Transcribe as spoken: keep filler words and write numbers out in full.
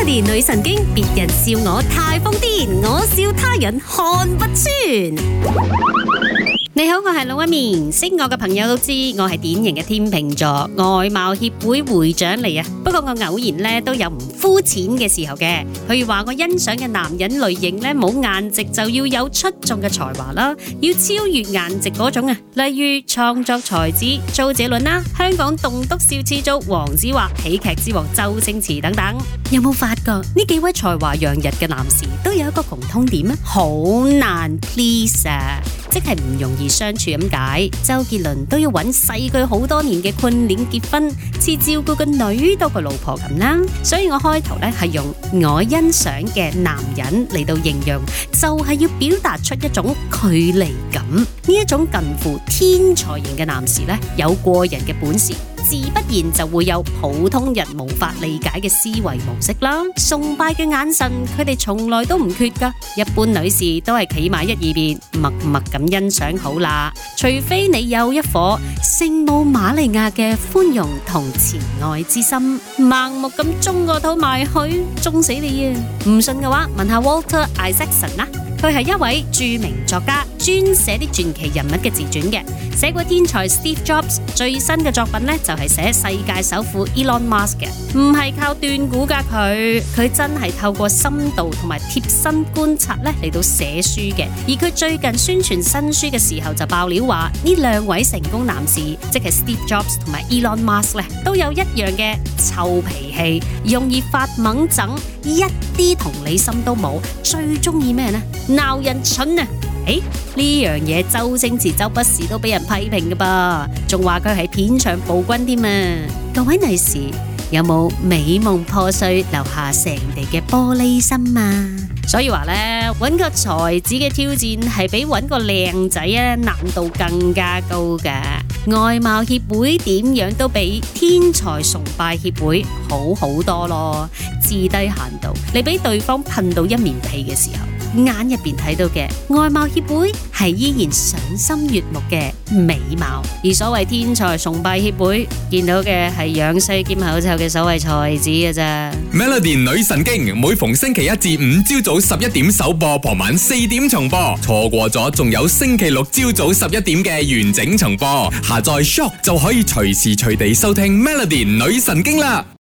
Melody 女神經，別人笑我太瘋癲，我笑他人看不穿。你好，我係老一面，識我嘅朋友都知我係典型嘅天秤座，外貌協會會長嚟啊。不過我偶然咧都有唔膚淺嘅時候嘅，譬如話我欣賞嘅男人類型咧冇顏值就要有出眾嘅才華啦，要超越顏值嗰種啊。例如創作才子周杰倫啦，香港棟篤笑始祖黃子華，喜劇之王周星馳等等。有冇發覺呢幾位才華洋溢嘅男士都有一個共通點啊？好難 please 啊！即係唔容易相處咁解。周杰倫都要揾細佢好多年嘅困戀結婚，似照顧個女多過老婆咁啦。所以我開頭咧係用我欣賞嘅男人嚟到形容，就係要表達出一種距離感。呢一種近乎天才型嘅男士咧，有過人嘅本事，自不然就會有普通人無法理解嘅思維模式啦。崇拜嘅眼神，佢哋從來都唔缺噶。一般女士都係企埋一二邊，默默咁欣賞好啦。除非你有一顆聖母瑪利亞嘅寬容同慈愛之心，盲目咁中個肚埋去，中死你啊！唔信嘅話，問下 Walter Isaacson 啦。佢係一位著名作家，專寫啲傳奇人物嘅自傳嘅，寫過天才 Steve Jobs， 最新嘅作品呢，就係寫世界首富 Elon Musk 嘅，唔係靠斷估噶佢，佢真係透過深度同埋貼身觀察咧嚟到寫書嘅。而佢最近宣傳新書嘅時候就爆料話，呢兩位成功男士，即係 Steve Jobs 同埋 Elon Musk 咧，都有一樣嘅臭脾氣，容易發猛憎，一啲同理心都冇，最中意咩呢？鬧人蠢啊！誒，呢樣嘢周星馳、周不時都俾人批評噶噃，仲話佢係片場暴君添啊！各位女士，有冇美夢破碎留下成地嘅玻璃心啊？所以話咧，揾個才子嘅挑戰係比揾個靚仔啊難度更加高噶。外貌協會點樣都比天才崇拜協會好好多咯。至低限度，你俾對方噴到一面屁嘅時候，眼入邊睇到嘅外貌協會係依然賞心悅目嘅美貌，而所謂天才崇拜協會見到嘅係樣衰兼口臭嘅所謂才子嘅咋。 Melody 女神經每逢星期一至五朝早十一點首播，傍晚四點重播，錯過咗仲有星期六朝早十一點嘅完整重播。下載 Shock 就可以隨時隨地收聽 Melody 女神經啦。